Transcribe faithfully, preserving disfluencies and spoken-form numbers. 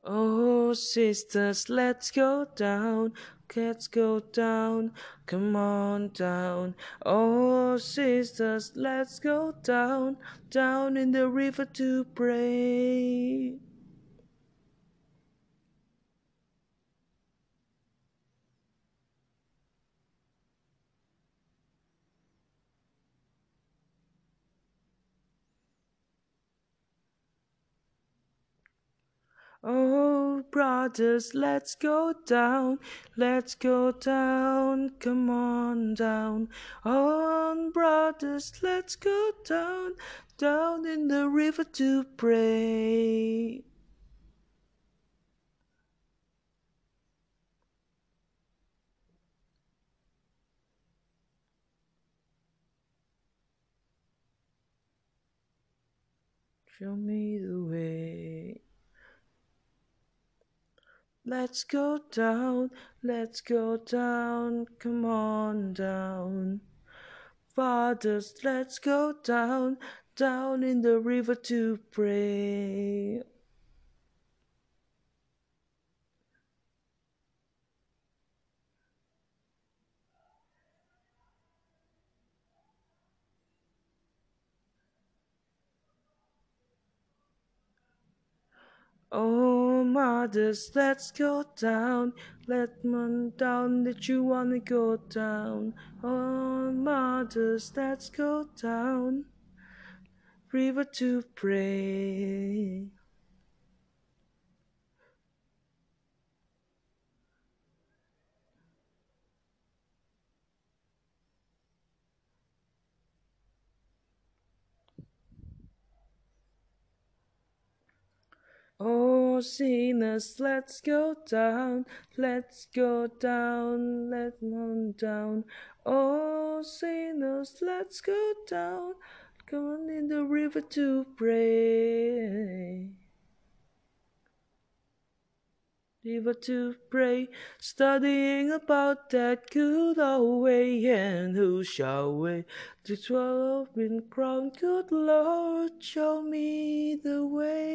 Oh, sisters, let's go down. Let's go down. Come on down. Oh, sisters, let's go down. Down in the river to pray. Oh, brothers, let's go down, let's go down, come on down. On, brothers, let's go down, down in the river to pray. Show me the way. Let's go down, let's go down, come on down. Fathers, let's go down, down in the river to pray. Oh, mothers, let's go down. Let man down that you wanna go down. Oh, mothers, let's go down. River to pray. Oh, sinners, let's go down. Let's go down. Let man down. Oh, sinners, let's go down. Come on in the river to pray. River to pray, studying about that good old way, and who shall we to twelve been crowned? Good Lord, show me the way.